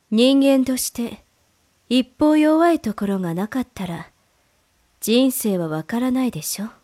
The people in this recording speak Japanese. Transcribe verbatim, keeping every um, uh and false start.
人間として一方弱いところがなかったら人生はわからないでしょ。